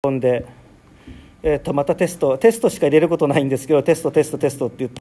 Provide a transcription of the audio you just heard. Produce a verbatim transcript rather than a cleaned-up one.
込んで、えー、とまたテストテストしか入れることないんですけど、テストテストテストって言って